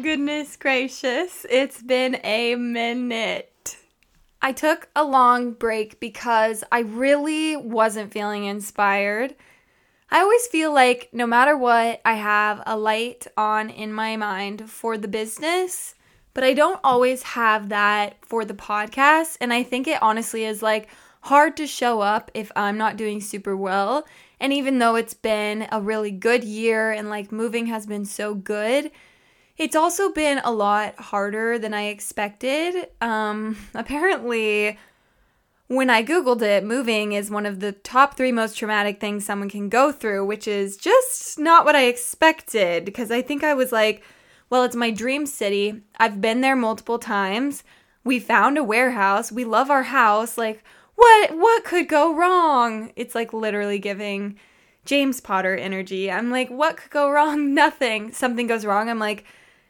Goodness gracious, it's been a minute. I took a long break because I really wasn't feeling inspired. I always feel like no matter what, I have a light on in my mind for the business, but I don't always have that for the podcast. And I think it honestly is like hard to show up if I'm not doing super well. And even though it's been a really good year and like moving has been so good, it's also been a lot harder than I expected. Apparently, when I Googled it, moving is one of the top 3 most traumatic things someone can go through, which is just not what I expected. Because I think I was like, well, it's my dream city. I've been there multiple times. We found a warehouse. We love our house. Like, what could go wrong? It's like literally giving James Potter energy. I'm like, what could go wrong? Nothing. Something goes wrong. I'm like,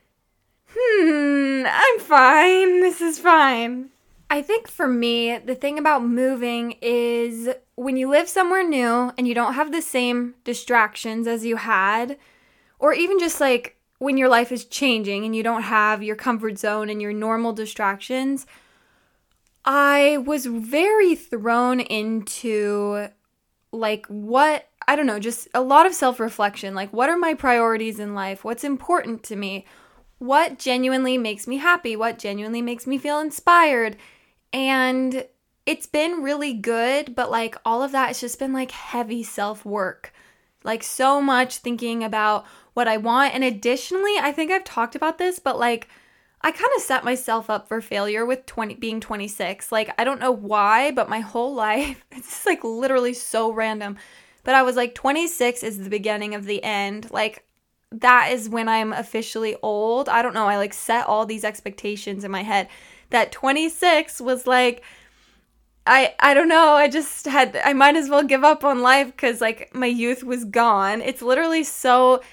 I'm fine. This is fine. I think for me, the thing about moving is when you live somewhere new and you don't have the same distractions as you had, or even just like when your life is changing and you don't have your comfort zone and your normal distractions, I was very thrown into like just a lot of self-reflection. Like, what are my priorities in life? What's important to me? What genuinely makes me happy? What genuinely makes me feel inspired? And it's been really good, but like all of that has just been like heavy self-work. Like so much thinking about what I want. And additionally, I think I've talked about this, but like I kind of set myself up for failure with being 26. Like I don't know why, but my whole life, it's just like literally so random. But I was like 26 is the beginning of the end. Like that is when I'm officially old. I don't know. I like set all these expectations in my head that 26 was like, I don't know. I might as well give up on life because like my youth was gone. It's literally so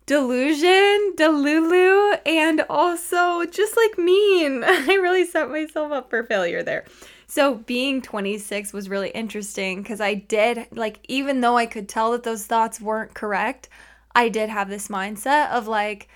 delulu, and also just like mean. I really set myself up for failure there. So being 26 was really interesting because I did like, even though I could tell that those thoughts weren't correct, I did have this mindset of like,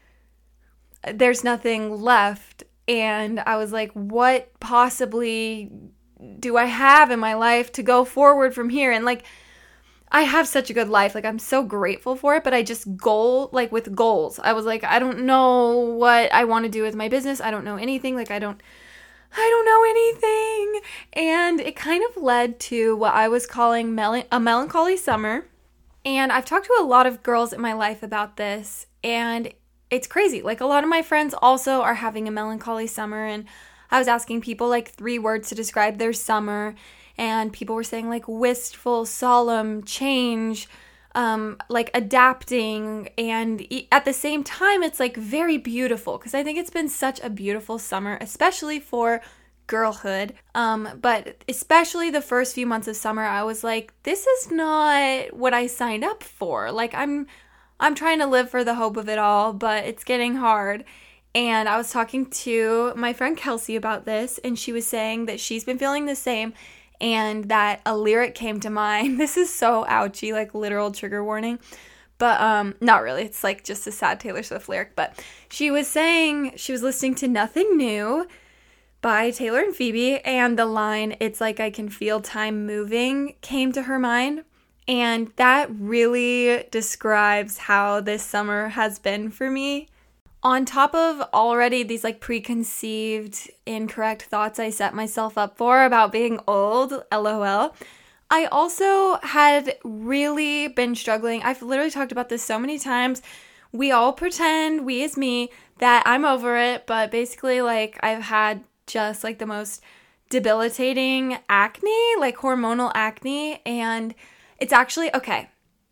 there's nothing left. And I was like, what possibly do I have in my life to go forward from here? And like, I have such a good life. Like, I'm so grateful for it, but I just with goals. I was like, I don't know what I want to do with my business. I don't know anything. Like, I don't know anything. And it kind of led to what I was calling a melancholy summer. And I've talked to a lot of girls in my life about this, and it's crazy. Like, a lot of my friends also are having a melancholy summer, and I was asking people like 3 words to describe their summer, and people were saying like wistful, solemn, change, like adapting, and at the same time, it's like very beautiful, because I think it's been such a beautiful summer, especially for girlhood, but especially the first few months of summer, I was like, this is not what I signed up for. Like, I'm trying to live for the hope of it all, but it's getting hard. And I was talking to my friend Kelsey about this, and she was saying that she's been feeling the same, and that a lyric came to mind. This is so ouchy, like literal trigger warning. But not really. It's like just a sad Taylor Swift lyric. But she was saying she was listening to Nothing New by Taylor and Phoebe, and the line, "It's like I can feel time moving," came to her mind. And that really describes how this summer has been for me. On top of already these like preconceived, incorrect thoughts I set myself up for about being old, LOL, I also had really been struggling. I've literally talked about this so many times. We all pretend, we as me, that I'm over it, but basically like I've had just like the most debilitating acne, like hormonal acne, and it's actually, okay.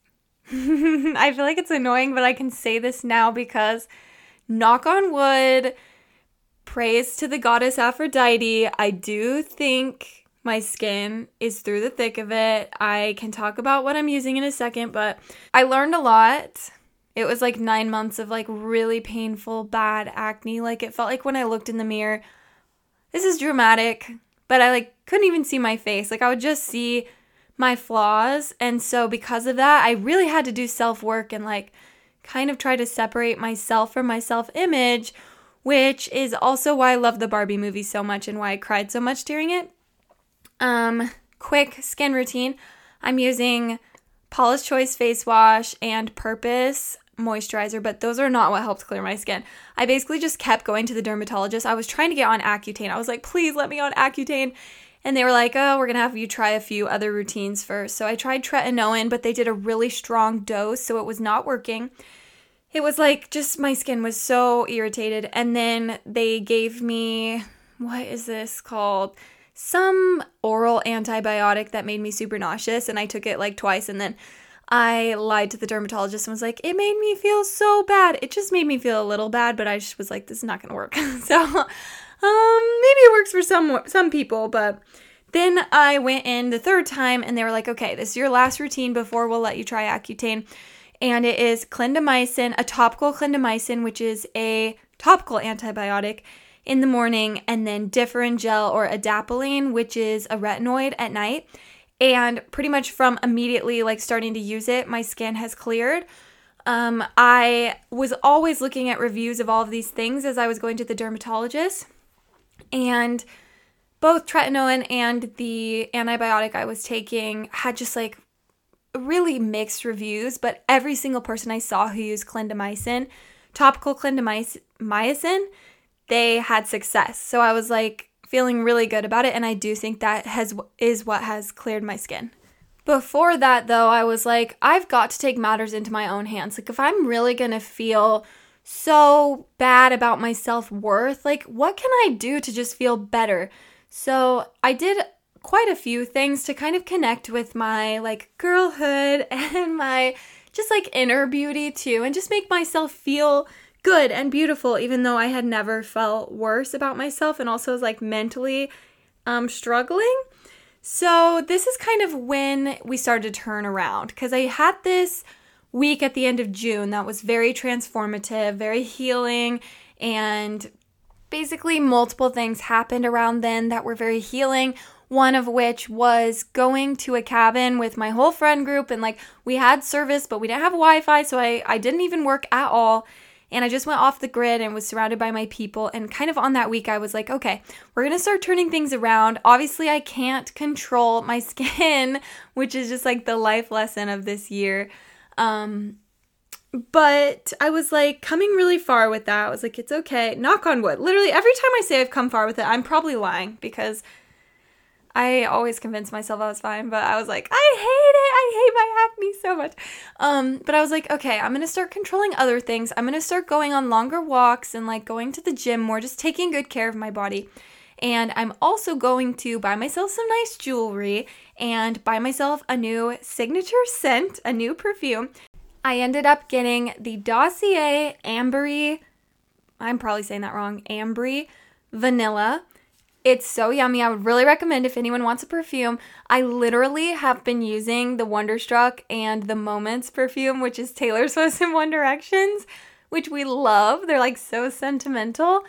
I feel like it's annoying, but I can say this now because, knock on wood, praise to the goddess Aphrodite, I do think my skin is through the thick of it. I can talk about what I'm using in a second, but I learned a lot. It was like 9 months of like really painful, bad acne. Like it felt like when I looked in the mirror, this is dramatic, but I like couldn't even see my face. Like I would just see my flaws. And so because of that, I really had to do self-work and like kind of try to separate myself from my self-image, which is also why I love the Barbie movie so much and why I cried so much during it. Quick skin routine. I'm using Paula's Choice face wash and Purpose moisturizer, but those are not what helped clear my skin. I basically just kept going to the dermatologist. I was trying to get on Accutane. I was like, please let me on Accutane. And they were like, oh, we're going to have you try a few other routines first. So I tried tretinoin, but they did a really strong dose, so it was not working. It was like just my skin was so irritated. And then they gave me, what is this called? Some oral antibiotic that made me super nauseous. And I took it like twice. And then I lied to the dermatologist and was like, it made me feel so bad. It just made me feel a little bad, but I just was like, this is not going to work. So maybe it works for some people. But then I went in the third time and they were like, okay, this is your last routine before we'll let you try Accutane. And it is clindamycin, a topical clindamycin, which is a topical antibiotic in the morning, and then Differin gel or adapalene, which is a retinoid at night. And pretty much from immediately like starting to use it, my skin has cleared. I was always looking at reviews of all of these things as I was going to the dermatologist. And both tretinoin and the antibiotic I was taking had just like really mixed reviews, but every single person I saw who used clindamycin, topical clindamycin, they had success. So I was like feeling really good about it, and I do think that is what has cleared my skin. Before that though, I was like, I've got to take matters into my own hands. Like if I'm really gonna feel so bad about my self-worth, like what can I do to just feel better? So I did quite a few things to kind of connect with my like girlhood and my just like inner beauty too, and just make myself feel good and beautiful, even though I had never felt worse about myself and also was like mentally struggling. So this is kind of when we started to turn around, because I had this week at the end of June that was very transformative, very healing, and basically multiple things happened around then that were very healing. One of which was going to a cabin with my whole friend group, and like we had service, but we didn't have Wi-Fi, so I didn't even work at all. And I just went off the grid and was surrounded by my people. And kind of on that week, I was like, okay, we're going to start turning things around. Obviously, I can't control my skin, which is just like the life lesson of this year. But I was like coming really far with that. I was like, it's okay. Knock on wood. Literally every time I say I've come far with it, I'm probably lying, because I always convinced myself I was fine, but I was like, I hate it. I hate my acne so much. But I was like, okay, I'm going to start controlling other things. I'm going to start going on longer walks and like going to the gym more, just taking good care of my body. And I'm also going to buy myself some nice jewelry and buy myself a new signature scent, a new perfume. I ended up getting the Dossier Ambery, I'm probably saying that wrong, Ambery Vanilla. It's so yummy. I would really recommend if anyone wants a perfume. I literally have been using the Wonderstruck and the Moments perfume, which is Taylor Swift and One Direction's, which we love. They're like so sentimental.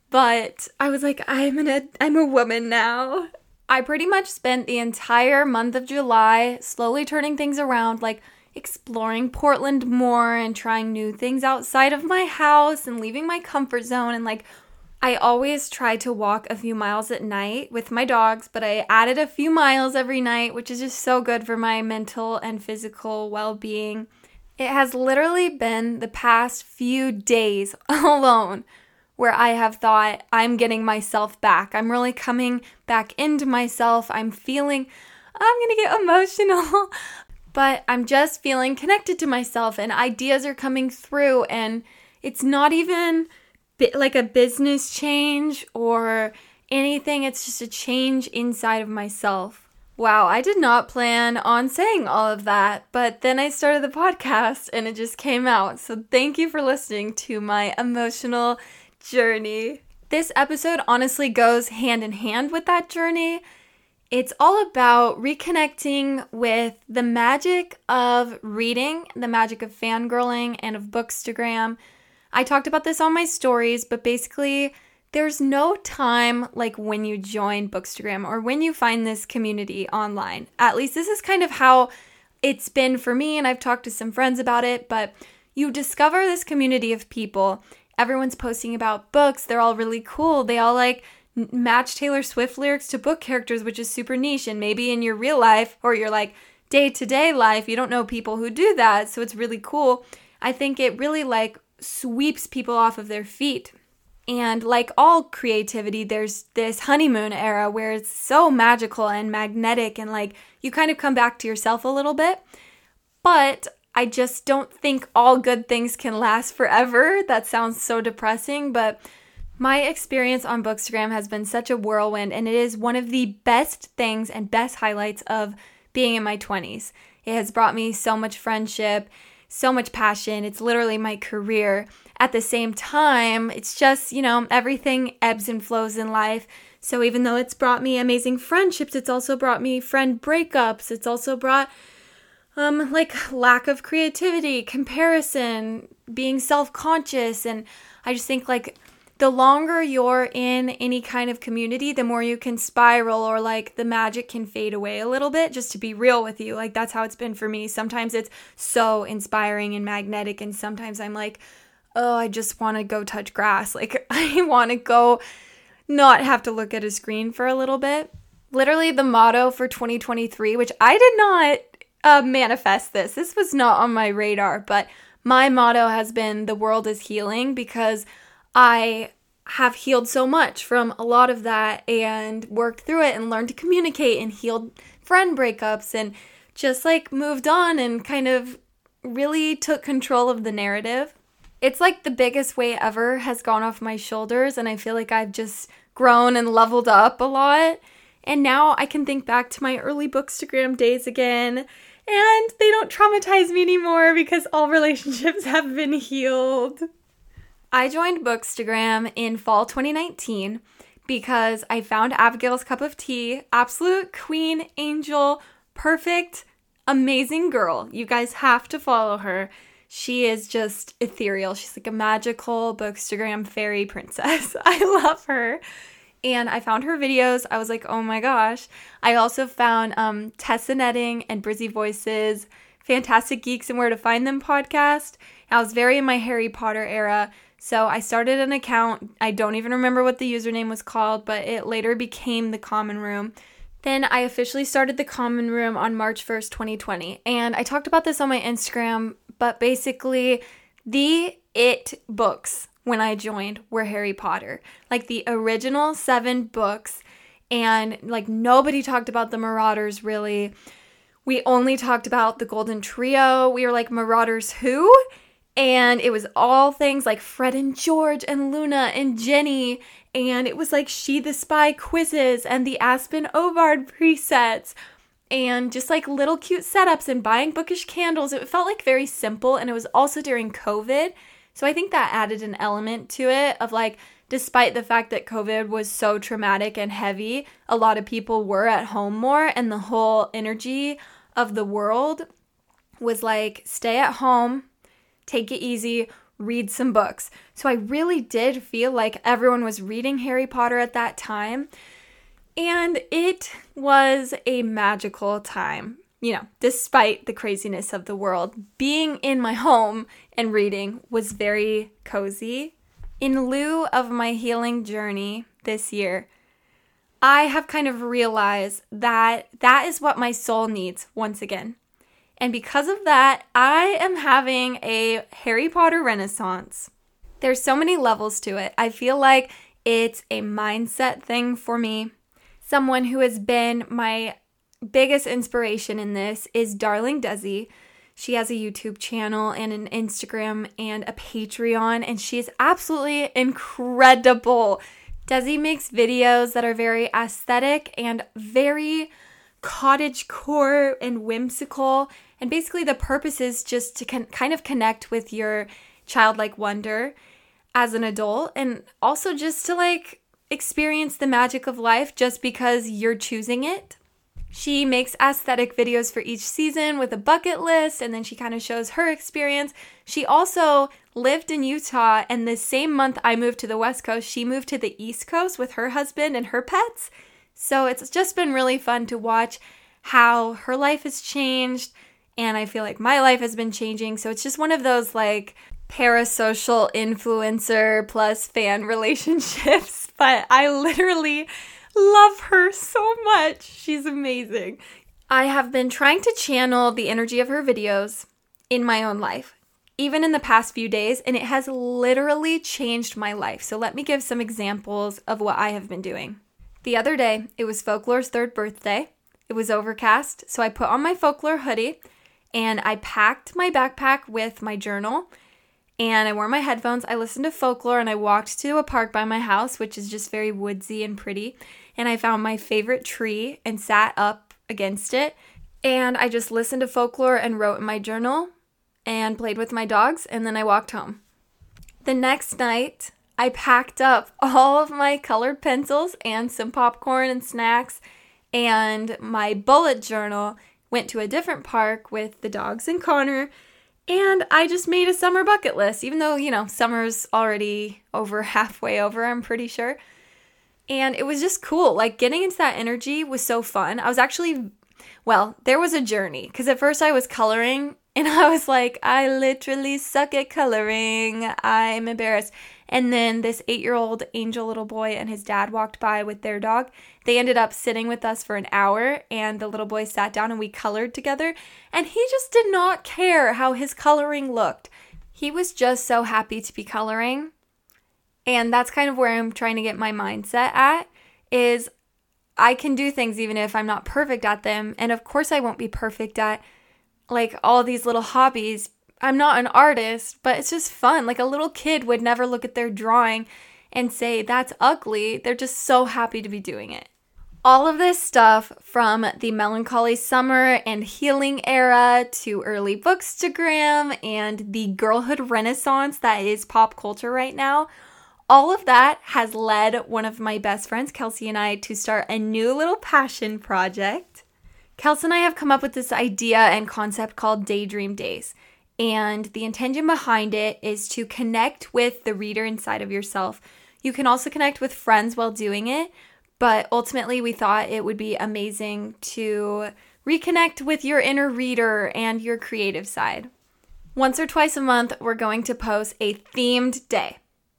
But I was like, I'm a woman now. I pretty much spent the entire month of July slowly turning things around, like exploring Portland more and trying new things outside of my house and leaving my comfort zone. And like, I always try to walk a few miles at night with my dogs, but I added a few miles every night, which is just so good for my mental and physical well-being. It has literally been the past few days alone where I have thought, I'm getting myself back. I'm really coming back into myself. I'm going to get emotional, but I'm just feeling connected to myself and ideas are coming through, and it's not even like a business change or anything. It's just a change inside of myself. Wow, I did not plan on saying all of that, but then I started the podcast and it just came out. So thank you for listening to my emotional journey. This episode honestly goes hand in hand with that journey. It's all about reconnecting with the magic of reading, the magic of fangirling, and of Bookstagram. I talked about this on my stories, but basically there's no time like when you join Bookstagram or when you find this community online. At least this is kind of how it's been for me, and I've talked to some friends about it, but you discover this community of people. Everyone's posting about books. They're all really cool. They all like match Taylor Swift lyrics to book characters, which is super niche. And maybe in your real life or your like day-to-day life, you don't know people who do that. So it's really cool. I think it really like sweeps people off of their feet. And like all creativity, there's this honeymoon era where it's so magical and magnetic and like you kind of come back to yourself a little bit. But I just don't think all good things can last forever. That sounds so depressing, but my experience on Bookstagram has been such a whirlwind, and it is one of the best things and best highlights of being in my 20s. It has brought me so much friendship, so much passion. It's literally my career. At the same time, it's just, everything ebbs and flows in life. So even though it's brought me amazing friendships, it's also brought me friend breakups. It's also brought lack of creativity, comparison, being self-conscious. And I just think like the longer you're in any kind of community, the more you can spiral or like the magic can fade away a little bit, just to be real with you. Like that's how it's been for me. Sometimes it's so inspiring and magnetic. And sometimes I'm like, oh, I just want to go touch grass. Like I want to go not have to look at a screen for a little bit. Literally the motto for 2023, which I did not manifest this. This was not on my radar, but my motto has been the world is healing, because I have healed so much from a lot of that and worked through it and learned to communicate and healed friend breakups and just like moved on and kind of really took control of the narrative. It's like the biggest weight ever has gone off my shoulders, and I feel like I've just grown and leveled up a lot. And now I can think back to my early Bookstagram days again, and they don't traumatize me anymore because all relationships have been healed. I joined Bookstagram in fall 2019 because I found Abigail's Cup of Tea, absolute queen, angel, perfect, amazing girl. You guys have to follow her. She is just ethereal. She's like a magical Bookstagram fairy princess. I love her. And I found her videos. I was like, oh my gosh. I also found Tessa Netting and Brizzy Voices, Fantastic Geeks and Where to Find Them podcast. I was very in my Harry Potter era. So I started an account. I don't even remember what the username was called, but it later became The Common Room. Then I officially started The Common Room on March 1st, 2020. And I talked about this on my Instagram, but basically the it books when I joined were Harry Potter. Like the original 7 books, and like nobody talked about the Marauders really. We only talked about the Golden Trio. We were like, Marauders who? And it was all things like Fred and George and Luna and Jenny. And it was like She the Spy quizzes and the Aspen Ovard presets. And just like little cute setups and buying bookish candles. It felt like very simple. And it was also during COVID. So I think that added an element to it of like, despite the fact that COVID was so traumatic and heavy, a lot of people were at home more. And the whole energy of the world was like, stay at home, take it easy, read some books. So I really did feel like everyone was reading Harry Potter at that time. And it was a magical time, despite the craziness of the world. Being in my home and reading was very cozy. In lieu of my healing journey this year, I have kind of realized that that is what my soul needs once again. And because of that, I am having a Harry Potter renaissance. There's so many levels to it. I feel like it's a mindset thing for me. Someone who has been my biggest inspiration in this is Darling Desi. She has a YouTube channel and an Instagram and a Patreon, and she is absolutely incredible. Desi makes videos that are very aesthetic and very cottagecore and whimsical. And basically the purpose is just to kind of connect with your childlike wonder as an adult, and also just to like experience the magic of life just because you're choosing it. She makes aesthetic videos for each season with a bucket list, and then she kind of shows her experience. She also lived in Utah, and the same month I moved to the West Coast, she moved to the East Coast with her husband and her pets. So it's just been really fun to watch how her life has changed and I feel like my life has been changing. So it's just one of those like parasocial influencer plus fan relationships. But I literally love her so much. She's amazing. I have been trying to channel the energy of her videos in my own life, even in the past few days, and it has literally changed my life. So let me give some examples of what I have been doing. The other day, it was Folklore's 3rd birthday. It was overcast, so I put on my Folklore hoodie, and I packed my backpack with my journal, and I wore my headphones. I listened to Folklore, and I walked to a park by my house, which is just very woodsy and pretty, and I found my favorite tree and sat up against it, and I just listened to Folklore and wrote in my journal and played with my dogs, and then I walked home. The next night, I packed up all of my colored pencils and some popcorn and snacks and my bullet journal, went to a different park with the dogs and Connor, and I just made a summer bucket list, even though, summer's already halfway over, I'm pretty sure. And it was just cool. Like, getting into that energy was so fun. I was actually, there was a journey. Because at first I was coloring, and I was like, I literally suck at coloring. I'm embarrassed. And then this 8-year-old angel little boy and his dad walked by with their dog. They ended up sitting with us for an hour, and the little boy sat down and we colored together. And he just did not care how his coloring looked. He was just so happy to be coloring. And that's kind of where I'm trying to get my mindset at, is I can do things even if I'm not perfect at them. And of course I won't be perfect at like all these little hobbies. I'm not an artist, but it's just fun. Like, a little kid would never look at their drawing and say, that's ugly. They're just so happy to be doing it. All of this stuff, from the melancholy summer and healing era to early bookstagram and the girlhood renaissance that is pop culture right now, all of that has led one of my best friends, Kelsey, and I to start a new little passion project. Kelsey and I have come up with this idea and concept called Daydream Days. And the intention behind it is to connect with the reader inside of yourself. You can also connect with friends while doing it, but ultimately we thought it would be amazing to reconnect with your inner reader and your creative side. Once or twice a month, we're going to post a themed day.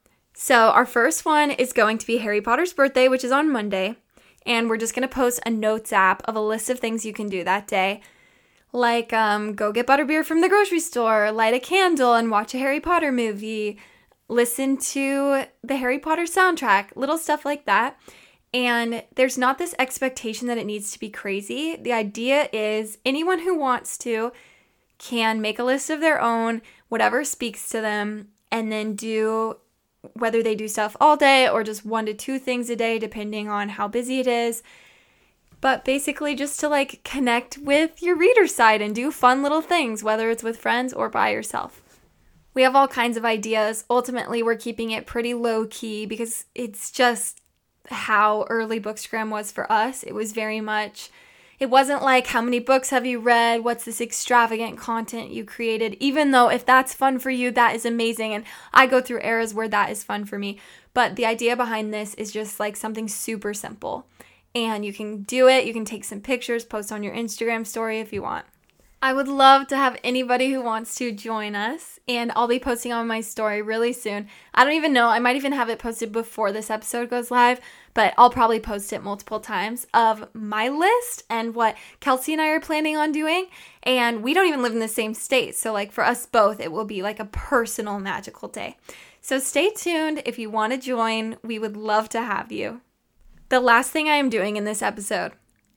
So our first one is going to be Harry Potter's birthday, which is on Monday. And we're just going to post a notes app of a list of things you can do that day. Like go get butterbeer from the grocery store, light a candle and watch a Harry Potter movie, listen to the Harry Potter soundtrack, little stuff like that. And there's not this expectation that it needs to be crazy. The idea is anyone who wants to can make a list of their own, whatever speaks to them, and then do, whether they do stuff all day or just 1 to 2 things a day, depending on how busy it is. But basically just to like connect with your reader side and do fun little things, whether it's with friends or by yourself. We have all kinds of ideas. Ultimately, we're keeping it pretty low key because it's just how early Bookstagram was for us. It was very much, it wasn't like, how many books have you read? What's this extravagant content you created? Even though if that's fun for you, that is amazing. And I go through eras where that is fun for me. But the idea behind this is just like something super simple. And you can do it. You can take some pictures, post on your Instagram story if you want. I would love to have anybody who wants to join us, and I'll be posting on my story really soon. I don't even know. I might even have it posted before this episode goes live, but I'll probably post it multiple times of my list and what Kelsey and I are planning on doing. And we don't even live in the same state. So like for us both, it will be like a personal magical day. So stay tuned. If you want to join, we would love to have you. The last thing I am doing in this episode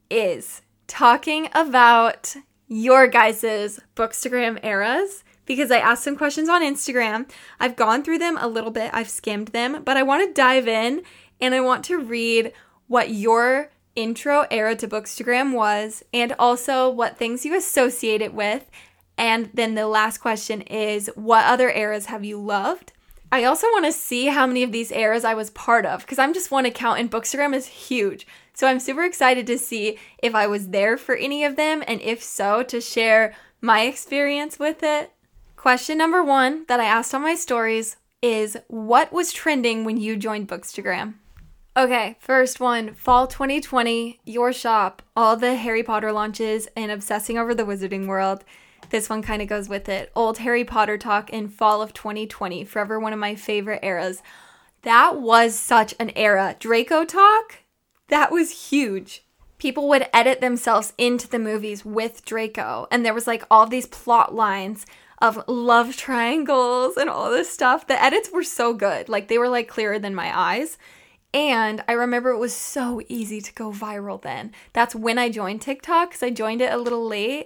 is talking about your guys' Bookstagram eras, because I asked some questions on Instagram. I've gone through them a little bit. I've skimmed them, but I want to dive in and I want to read what your intro era to Bookstagram was and also what things you associate it with. And then the last question is, what other eras have you loved? I also want to see how many of these eras I was part of, because I'm just one account and Bookstagram is huge. So I'm super excited to see if I was there for any of them, and if so, to share my experience with it. Question number 1 that I asked on my stories is, what was trending when you joined Bookstagram? Okay, first one, fall 2020, your shop, all the Harry Potter launches and obsessing over the Wizarding World. This one kind of goes with it. Old Harry Potter talk in fall of 2020. Forever one of my favorite eras. That was such an era. Draco talk? That was huge. People would edit themselves into the movies with Draco. And there was like all these plot lines of love triangles and all this stuff. The edits were so good. Like they were like clearer than my eyes. And I remember it was so easy to go viral then. That's when I joined TikTok because I joined it a little late.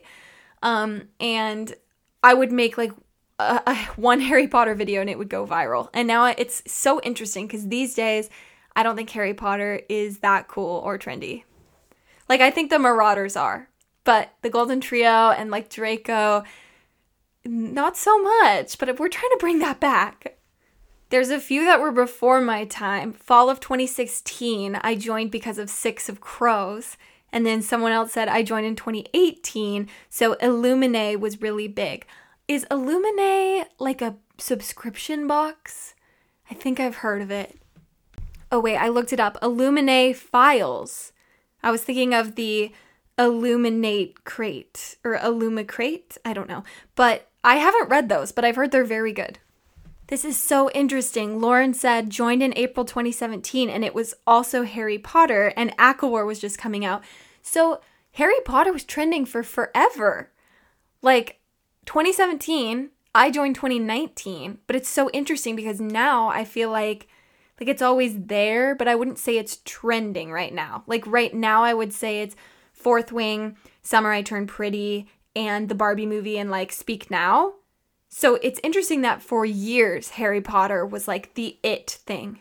And I would make like one Harry Potter video and it would go viral. And now it's so interesting because these days I don't think Harry Potter is that cool or trendy. Like I think the Marauders are, but the Golden Trio and like Draco, not so much. But we're trying to bring that back. There's a few that were before my time. Fall of 2016, I joined because of Six of Crows. And then someone else said I joined in 2018, so Illuminae was really big. Is Illuminae like a subscription box? I think I've heard of it. Oh wait, I looked it up. Illuminae Files. I was thinking of the Illuminate Crate or Illumicrate. I don't know. But I haven't read those, but I've heard they're very good. This is so interesting. Lauren said, joined in April 2017, and it was also Harry Potter, and ACOWAR was just coming out. So Harry Potter was trending for forever. Like 2017, I joined 2019, but it's so interesting because now I feel like it's always there, but I wouldn't say it's trending right now. Like right now, I would say it's Fourth Wing, Summer I Turned Pretty, and the Barbie movie, and like Speak Now. So it's interesting that for years, Harry Potter was like the it thing.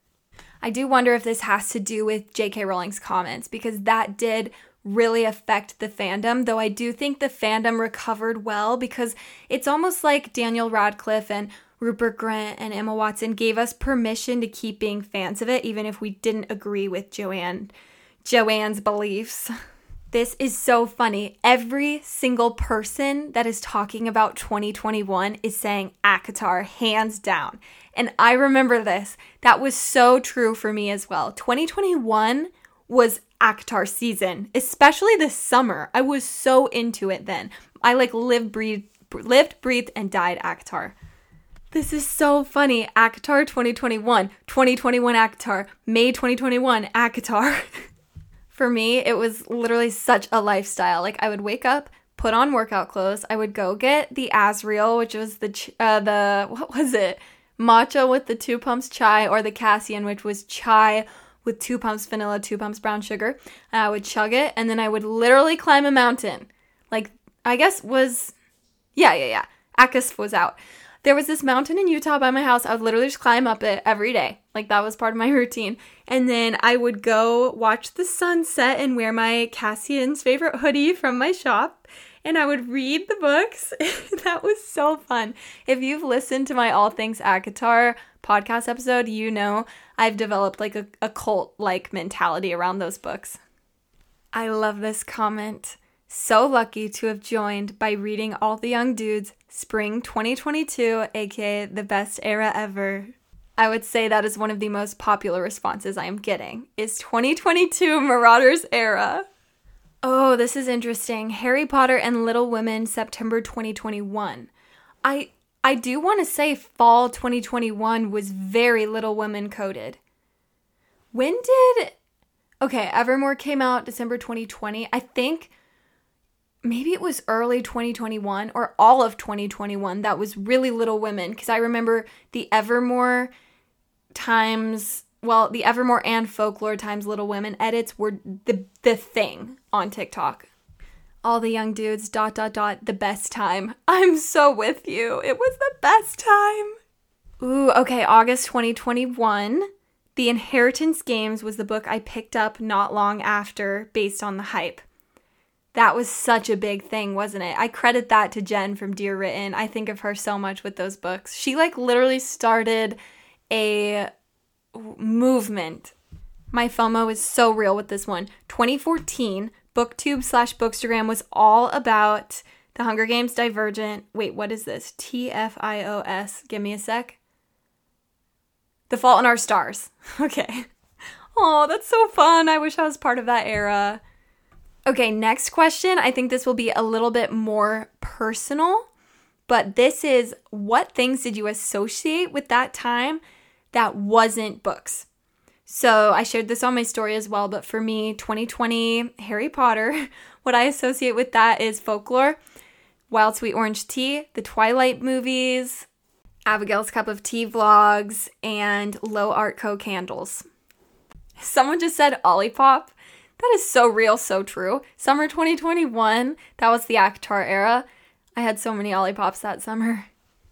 I do wonder if this has to do with J.K. Rowling's comments, because that did really affect the fandom, though I do think the fandom recovered well, because it's almost like Daniel Radcliffe and Rupert Grint and Emma Watson gave us permission to keep being fans of it, even if we didn't agree with Joanne's beliefs. This is so funny. Every single person that is talking about 2021 is saying ACOTAR, hands down. And I remember this. That was so true for me as well. 2021 was ACOTAR season, especially this summer. I was so into it then. I like lived, breathed, and died ACOTAR. This is so funny. ACOTAR 2021, 2021 ACOTAR, May 2021 ACOTAR. For me, it was literally such a lifestyle. Like I would wake up, put on workout clothes. I would go get the Azriel, which was what was it? Matcha with the 2 pumps chai, or the Cassian, which was chai with 2 pumps vanilla, 2 pumps brown sugar. And I would chug it, and then I would literally climb a mountain. Like, I guess was, yeah. Akis was out. There was this mountain in Utah by my house. I would literally just climb up it every day. Like that was part of my routine. And then I would go watch the sunset and wear my Cassian's favorite hoodie from my shop. And I would read the books. That was so fun. If you've listened to my All Things ACOTAR podcast episode, you know I've developed like a cult-like mentality around those books. I love this comment. So lucky to have joined by reading All the Young Dudes Spring 2022, aka the best era ever. I would say that is one of the most popular responses I am getting, is 2022 Marauders era. Oh, this is interesting. Harry Potter and Little Women, September 2021. I do want to say fall 2021 was very Little Women coded. Evermore came out December 2020. I think maybe it was early 2021 or all of 2021 that was really Little Women, because I remember the Evermore and Folklore times Little Women edits were the thing on TikTok. All the Young Dudes, ... the best time. I'm so with you. It was the best time. Ooh, okay, August 2021. The Inheritance Games was the book I picked up not long after based on the hype. That was such a big thing, wasn't it? I credit that to Jen from Dear Written. I think of her so much with those books. She literally started a movement. My FOMO is so real with this one. 2014, BookTube/Bookstagram was all about The Hunger Games, Divergent. Wait, what is this? TFIOS. Give me a sec. The Fault in Our Stars. Okay. Oh, that's so fun. I wish I was part of that era. Okay, next question. I think this will be a little bit more personal, but this is, what things did you associate with that time that wasn't books? So I shared this on my story as well, but for me, 2020 Harry Potter, what I associate with that is folklore, Wild Sweet Orange Tea, the Twilight movies, Abigail's Cup of Tea vlogs, and Low Art Co candles. Someone just said Olipop. That is so real, so true. Summer 2021, that was the ACOTAR era. I had so many Olipops that summer.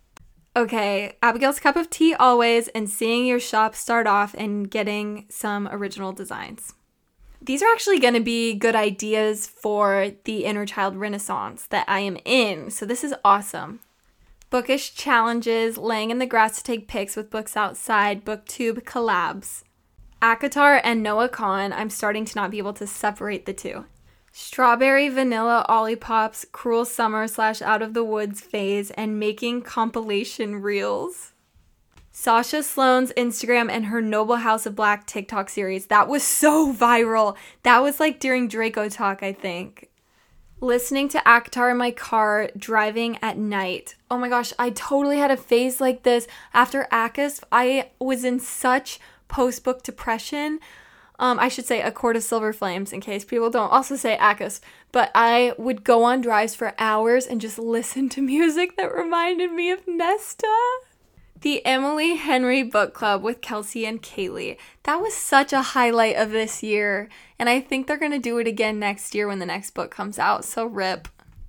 Okay, Abigail's Cup of Tea always, and seeing your shop start off and getting some original designs. These are actually going to be good ideas for the Inner Child Renaissance that I am in, so this is awesome. Bookish challenges, laying in the grass to take pics with books outside, booktube collabs. ACOTAR and Noah Kahan, I'm starting to not be able to separate the two. Strawberry Vanilla Olipops, Cruel Summer / Out of the Woods phase, and making compilation reels. Sasha Sloan's Instagram and her Noble House of Black TikTok series. That was so viral. That was like during Draco Talk, I think. Listening to ACOTAR in my car, driving at night. Oh my gosh, I totally had a phase like this. After ACOS, I was in such post-book depression. I should say A Court of Silver Flames in case people don't also say ACOS. But I would go on drives for hours and just listen to music that reminded me of Nesta. The Emily Henry Book Club with Kelsey and Kaylee. That was such a highlight of this year. And I think they're going to do it again next year when the next book comes out. So rip.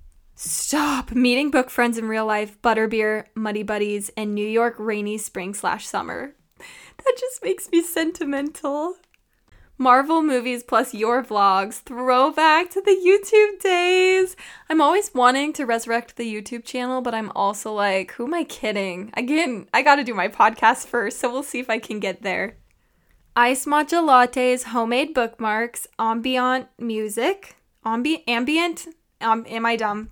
Stop. Meeting book friends in real life, Butterbeer, Muddy Buddies, and New York rainy spring / summer. That just makes me sentimental. Marvel movies plus your vlogs, throwback to the YouTube days. I'm always wanting to resurrect the YouTube channel, but I'm also like, who am I kidding? Again, I gotta do my podcast first, so we'll see if I can get there. Iced matcha lattes, homemade bookmarks, ambient music. Ambient? Am I dumb?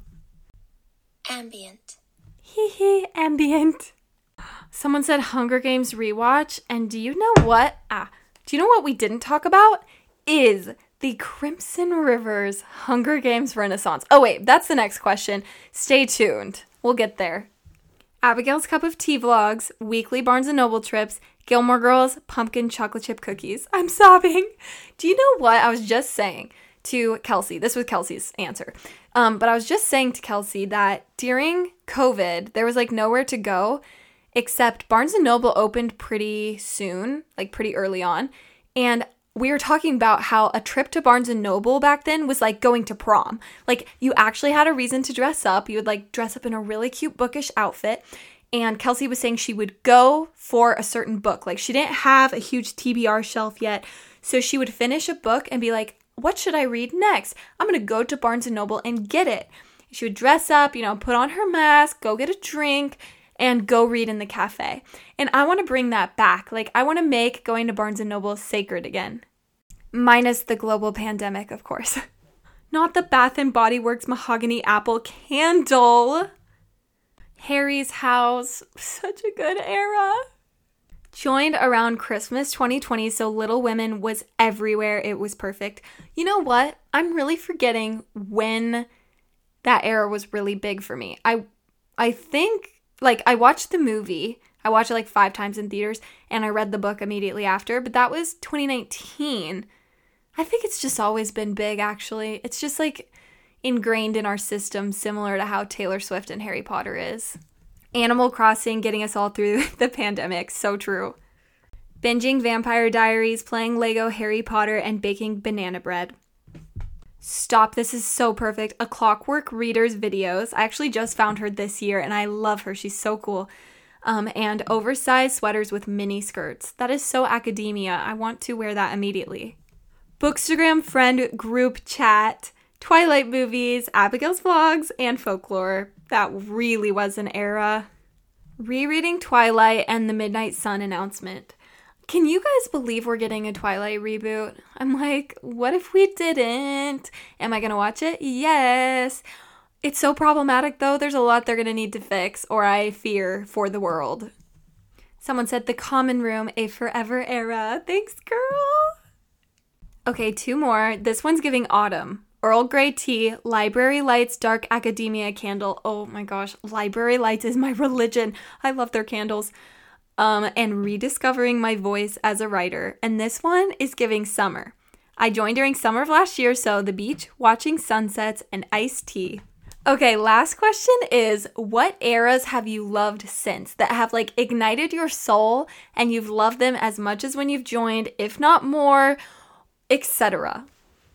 Ambient. Hee ambient. Someone said Hunger Games rewatch, and do you know what? Do you know what we didn't talk about? Is the Crimson Rivers Hunger Games Renaissance. Oh wait, that's the next question. Stay tuned. We'll get there. Abigail's Cup of Tea vlogs, weekly Barnes & Noble trips, Gilmore Girls, pumpkin chocolate chip cookies. I'm sobbing. Do you know what I was just saying to Kelsey? This was Kelsey's answer. But I was just saying to Kelsey that during COVID, there was like nowhere to go. Except Barnes & Noble opened pretty soon, like pretty early on. And we were talking about how a trip to Barnes & Noble back then was like going to prom. Like you actually had a reason to dress up. You would like dress up in a really cute bookish outfit. And Kelsey was saying she would go for a certain book. Like she didn't have a huge TBR shelf yet. So she would finish a book and be like, what should I read next? I'm going to go to Barnes & Noble and get it. She would dress up, put on her mask, go get a drink, and go read in the cafe. And I want to bring that back. Like, I want to make going to Barnes & Noble sacred again. Minus the global pandemic, of course. Not the Bath & Body Works mahogany apple candle. Harry's house. Such a good era. Joined around Christmas 2020, so Little Women was everywhere. It was perfect. You know what? I'm really forgetting when that era was really big for me. I think... I watched the movie. I watched it 5 times in theaters, and I read the book immediately after, but that was 2019. I think it's just always been big, actually. It's just, ingrained in our system, similar to how Taylor Swift and Harry Potter is. Animal Crossing getting us all through the pandemic. So true. Binging Vampire Diaries, playing Lego Harry Potter, and baking banana bread. Stop, this is so perfect. A Clockwork Readers videos. I actually just found her this year and I love her. She's so cool. And oversized sweaters with mini skirts. That is so academia. I want to wear that immediately. Bookstagram friend group chat, Twilight movies, Abigail's vlogs, and folklore. That really was an era. Rereading Twilight and the Midnight Sun announcement. Can you guys believe we're getting a Twilight reboot? I'm like, what if we didn't? Am I going to watch it? Yes. It's so problematic, though. There's a lot they're going to need to fix, or I fear for the world. Someone said The Common Room, a forever era. Thanks, girl. Okay, 2 more. This one's giving autumn. Earl Grey tea, Library Lights Dark Academia candle. Oh my gosh, Library Lights is my religion. I love their candles. And rediscovering my voice as a writer. And this one is giving summer. I joined during summer of last year, so the beach, watching sunsets, and iced tea. Okay, last question is, what eras have you loved since that have like ignited your soul and you've loved them as much as when you've joined, if not more, etc.?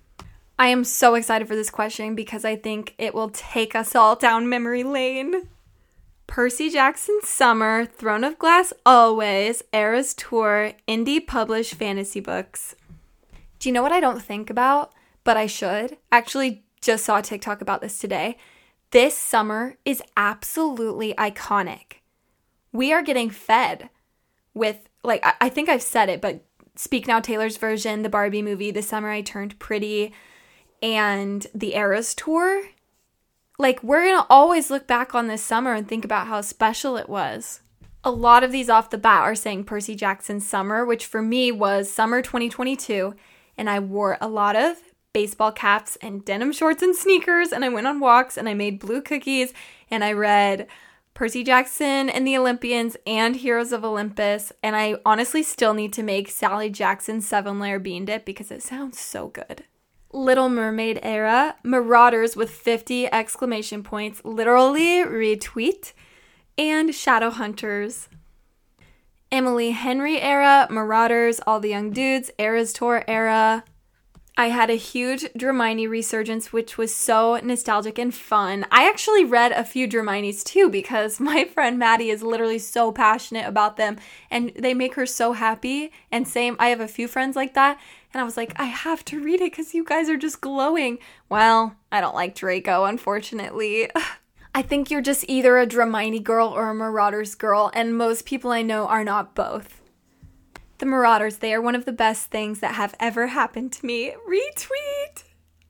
I am so excited for this question because I think it will take us all down memory lane. Percy Jackson's Summer, Throne of Glass Always, Eras Tour, indie published fantasy books. Do you know what I don't think about, but I should? Actually, just saw a TikTok about this today. This summer is absolutely iconic. We are getting fed with, like, I think I've said it, but Speak Now Taylor's version, the Barbie movie, The Summer I Turned Pretty, and the Eras Tour. Like, we're going to always look back on this summer and think about how special it was. A lot of these off the bat are saying Percy Jackson's Summer, which for me was summer 2022, and I wore a lot of baseball caps and denim shorts and sneakers, and I went on walks, and I made blue cookies, and I read Percy Jackson and the Olympians and Heroes of Olympus, and I honestly still need to make Sally Jackson's 7-layer bean dip because it sounds so good. Little Mermaid era, Marauders with 50 exclamation points, literally retweet, and Shadowhunters. Emily Henry era, Marauders, All the Young Dudes, Eras Tour era. I had a huge Dramini resurgence, which was so nostalgic and fun. I actually read a few Draminis too because my friend Maddie is literally so passionate about them and they make her so happy. And same, I have a few friends like that. And I was like, I have to read it because you guys are just glowing. Well, I don't like Draco, unfortunately. I think you're just either a Dramini girl or a Marauders girl, and most people I know are not both. The Marauders, they are one of the best things that have ever happened to me. Retweet!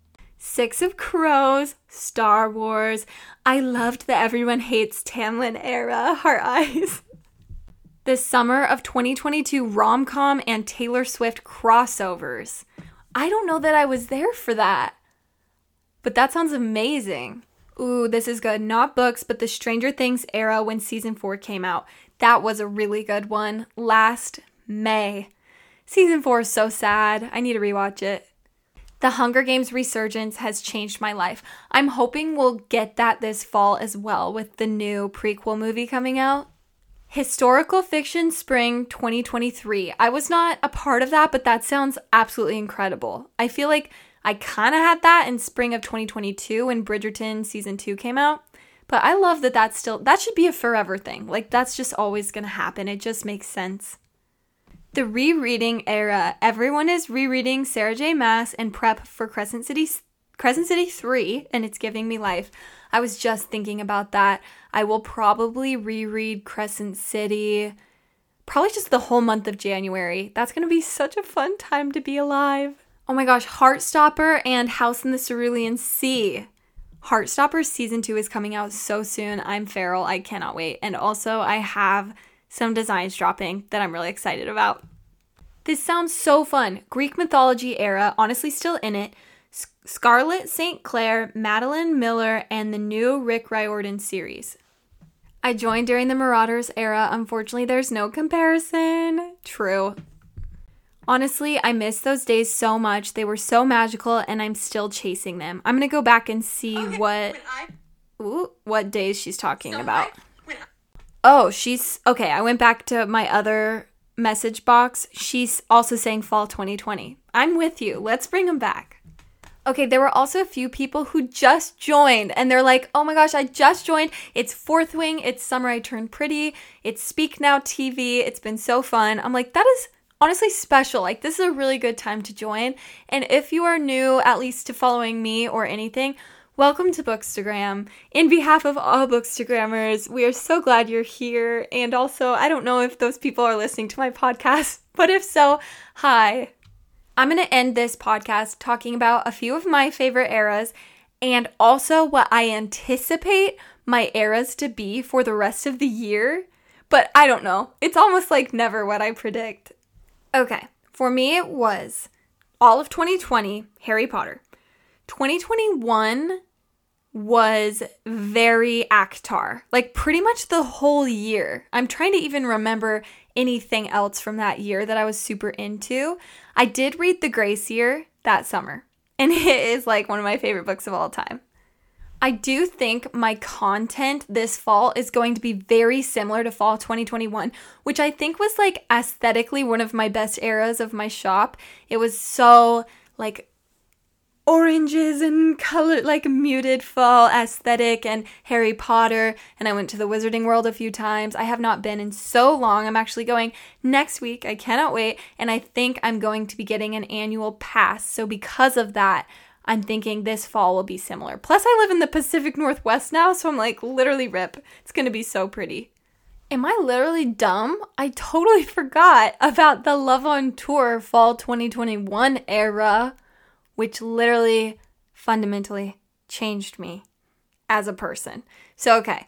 Six of Crows, Star Wars. I loved the Everyone Hates Tamlin era. Heart eyes. The summer of 2022 rom-com and Taylor Swift crossovers. I don't know that I was there for that, but that sounds amazing. Ooh, this is good. Not books, but the Stranger Things era when season 4 came out. That was a really good one. Last May. Season 4 is so sad. I need to rewatch it. The Hunger Games resurgence has changed my life. I'm hoping we'll get that this fall as well with the new prequel movie coming out. Historical Fiction Spring 2023. I was not a part of that, but that sounds absolutely incredible. I feel like I kind of had that in spring of 2022 when Bridgerton season 2 came out. But I love that that should be a forever thing. Like, that's just always going to happen. It just makes sense. The rereading era. Everyone is rereading Sarah J. Maas and prep for Crescent City 3, and it's giving me life. I was just thinking about that. I will probably reread Crescent City probably just the whole month of January. That's going to be such a fun time to be alive. Oh my gosh, Heartstopper and House in the Cerulean Sea. Heartstopper season 2 is coming out so soon. I'm feral. I cannot wait. And also I have some designs dropping that I'm really excited about. This sounds so fun. Greek mythology era, honestly still in it. Scarlett St. Clair, Madeline Miller, and the new Rick Riordan series. I joined during the Marauders era. Unfortunately, there's no comparison. True. Honestly, I miss those days so much. They were so magical, and I'm still chasing them. I'm going to go back and see what days she's talking about. Okay, I went back to my other message box. She's also saying fall 2020. I'm with you. Let's bring them back. Okay, there were also a few people who just joined, and they're like, oh my gosh, I just joined. It's Fourth Wing. It's Summer I Turned Pretty. It's Speak Now TV. It's been so fun. I'm like, that is honestly special. Like, this is a really good time to join. And if you are new, at least to following me or anything, welcome to Bookstagram. In behalf of all Bookstagrammers, we are so glad you're here. And also, I don't know if those people are listening to my podcast, but if so, hi. I'm going to end this podcast talking about a few of my favorite eras and also what I anticipate my eras to be for the rest of the year. But I don't know. It's almost like never what I predict. Okay, for me it was all of 2020, Harry Potter. 2021 was very ACOTAR, like pretty much the whole year. I'm trying to even remember anything else from that year that I was super into. I did read The Grace Year that summer, and it is like one of my favorite books of all time. I do think my content this fall is going to be very similar to fall 2021, which I think was like aesthetically one of my best eras of my shop. It was so like oranges and color, like muted fall aesthetic and Harry Potter. And I went to the Wizarding World a few times. I have not been in so long. I'm actually going next week. I cannot wait. And I think I'm going to be getting an annual pass. So because of that, I'm thinking this fall will be similar. Plus, I live in the Pacific Northwest now, so I'm like, literally rip. It's going to be so pretty. Am I literally dumb? I totally forgot about the Love on Tour fall 2021 era, which literally fundamentally changed me as a person. So, okay.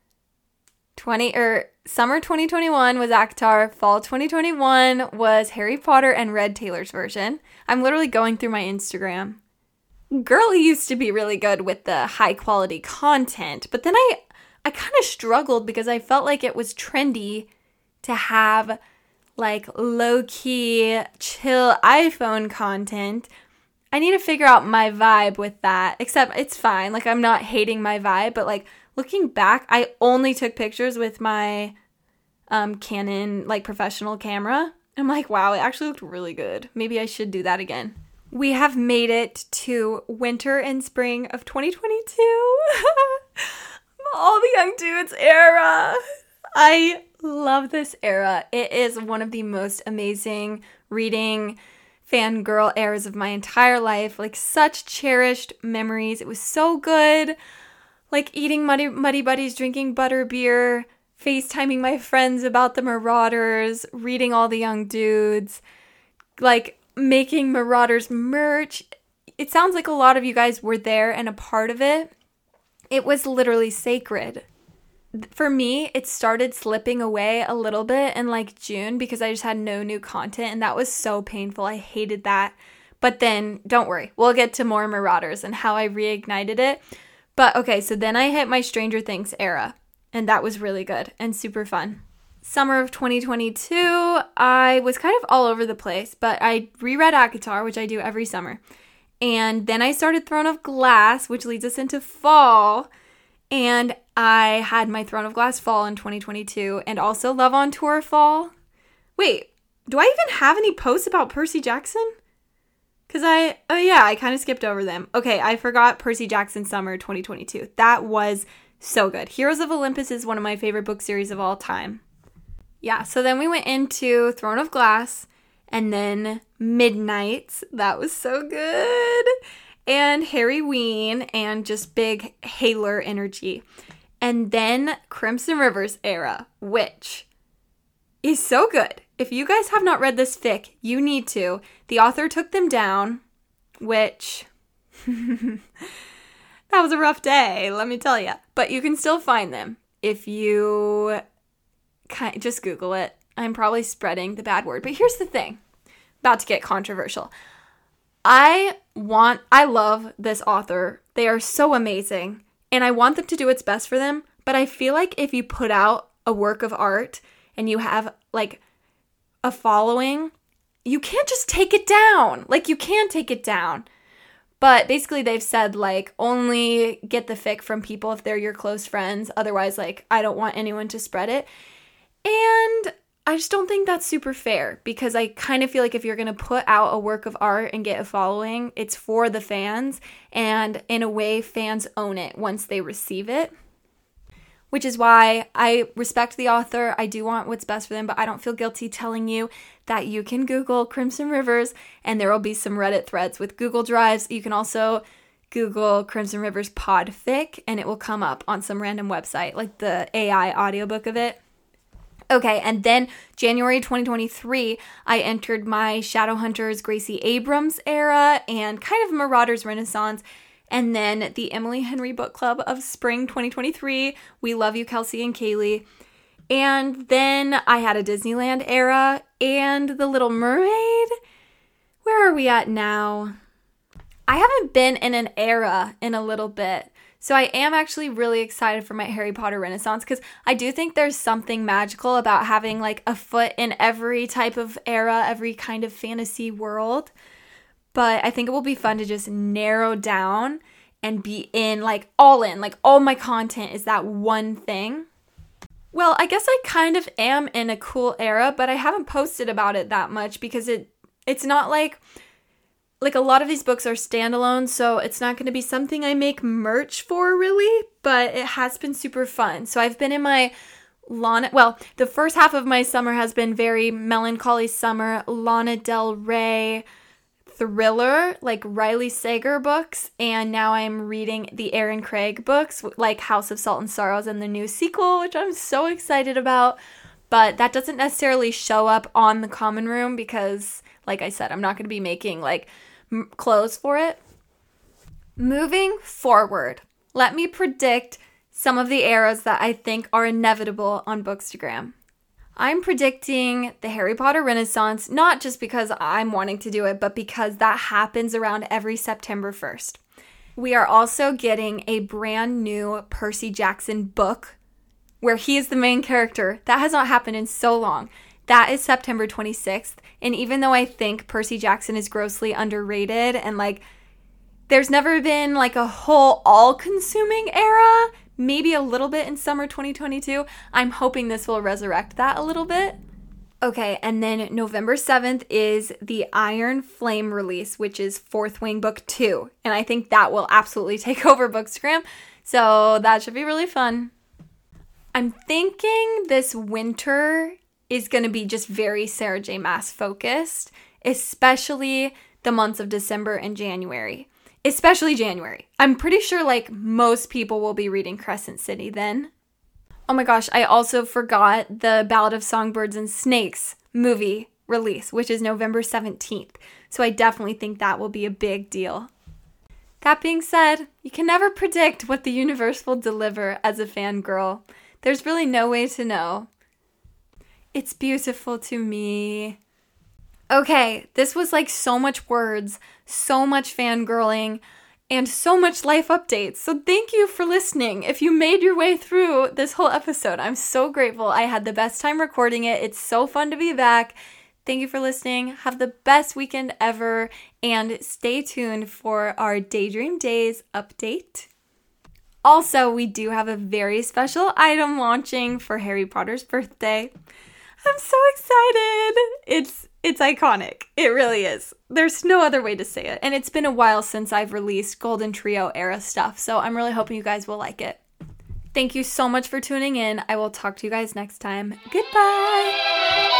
Summer 2021 was ACOTAR. Fall 2021 was Harry Potter and Red Taylor's version. I'm literally going through my Instagram. Girl used to be really good with the high quality content, but then I kind of struggled because I felt like it was trendy to have like low-key, chill iPhone content. I need to figure out my vibe with that, except it's fine. Like, I'm not hating my vibe, but like looking back, I only took pictures with my Canon like professional camera. I'm like, wow, it actually looked really good. Maybe I should do that again. We have made it to winter and spring of 2022. All the Young Dudes era. I love this era. It is one of the most amazing reading fangirl eras of my entire life. Like, such cherished memories. It was so good. Like, eating Muddy Buddies, drinking butterbeer, FaceTiming my friends about the Marauders, reading all the Young Dudes. Like, making Marauders merch. It sounds like a lot of you guys were there and a part of it. It was literally sacred. For me, it started slipping away a little bit in like June because I just had no new content, and that was so painful. I hated that. But then, don't worry, we'll get to more Marauders and how I reignited it. But okay, so then I hit my Stranger Things era, and that was really good and super fun. Summer of 2022, I was kind of all over the place, but I reread ACOTAR, which I do every summer. And then I started Throne of Glass, which leads us into fall. And I had my Throne of Glass fall in 2022 and also Love on Tour fall. Wait, do I even have any posts about Percy Jackson? Because I kind of skipped over them. Okay, I forgot Percy Jackson Summer 2022. That was so good. Heroes of Olympus is one of my favorite book series of all time. Yeah, so then we went into Throne of Glass and then Midnights. That was so good. And Harry Ween and just big Haler energy. And then Crimson Rivers era, which is so good. If you guys have not read this fic, you need to. The author took them down, which that was a rough day, let me tell you. But you can still find them if you just Google it. I'm probably spreading the bad word, but here's the thing. About to get controversial. I love this author. They are so amazing, and I want them to do what's best for them, but I feel like if you put out a work of art and you have like a following, you can't just take it down. Like, you can take it down. But basically they've said, like, only get the fic from people if they're your close friends. Otherwise, like, I don't want anyone to spread it. And I just don't think that's super fair, because I kind of feel like if you're going to put out a work of art and get a following, it's for the fans. And in a way, fans own it once they receive it. Which is why I respect the author. I do want what's best for them, but I don't feel guilty telling you that you can Google Crimson Rivers and there will be some Reddit threads with Google Drives. You can also Google Crimson Rivers podfic and it will come up on some random website, like the AI audiobook of it. Okay, and then January 2023, I entered my Shadowhunters Gracie Abrams era and kind of Marauders Renaissance. And then the Emily Henry Book Club of Spring 2023. We love you, Kelsey and Kaylee. And then I had a Disneyland era and The Little Mermaid. Where are we at now? I haven't been in an era in a little bit. So I am actually really excited for my Harry Potter Renaissance because I do think there's something magical about having like a foot in every type of era, every kind of fantasy world. But I think it will be fun to just narrow down and be in, like all my content is that one thing. Well, I guess I kind of am in a cool era, but I haven't posted about it that much because it's not like a lot of these books are standalone, so it's not going to be something I make merch for really, but it has been super fun. So I've been in my the first half of my summer has been very melancholy summer, Lana Del Rey thriller, like Riley Sager books, and now I'm reading the Aaron Craig books, like House of Salt and Sorrows and the new sequel, which I'm so excited about, but that doesn't necessarily show up on the Common Room because, like I said, I'm not going to be making like clothes for it. Moving forward, let me predict some of the eras that I think are inevitable on Bookstagram. I'm predicting the Harry Potter Renaissance, not just because I'm wanting to do it, but because that happens around every September 1st. We are also getting a brand new Percy Jackson book where he is the main character. That has not happened in so long. That is September 26th. And even though I think Percy Jackson is grossly underrated and like there's never been like a whole all-consuming era, maybe a little bit in summer 2022, I'm hoping this will resurrect that a little bit. Okay, and then November 7th is the Iron Flame release, which is Fourth Wing Book 2. And I think that will absolutely take over Bookstagram. So that should be really fun. I'm thinking this winter is going to be just very Sarah J. Maas focused, especially the months of December and January. Especially January. I'm pretty sure like most people will be reading Crescent City then. Oh my gosh, I also forgot the Ballad of Songbirds and Snakes movie release, which is November 17th. So I definitely think that will be a big deal. That being said, you can never predict what the universe will deliver as a fangirl. There's really no way to know. It's beautiful to me. Okay, this was like so much words, so much fangirling, and so much life updates. So thank you for listening. If you made your way through this whole episode, I'm so grateful. I had the best time recording it. It's so fun to be back. Thank you for listening. Have the best weekend ever, and stay tuned for our Daydream Days update. Also, we do have a very special item launching for Harry Potter's birthday. I'm so excited. It's iconic. It really is. There's no other way to say it. And it's been a while since I've released Golden Trio era stuff, so I'm really hoping you guys will like it. Thank you so much for tuning in. I will talk to you guys next time. Goodbye.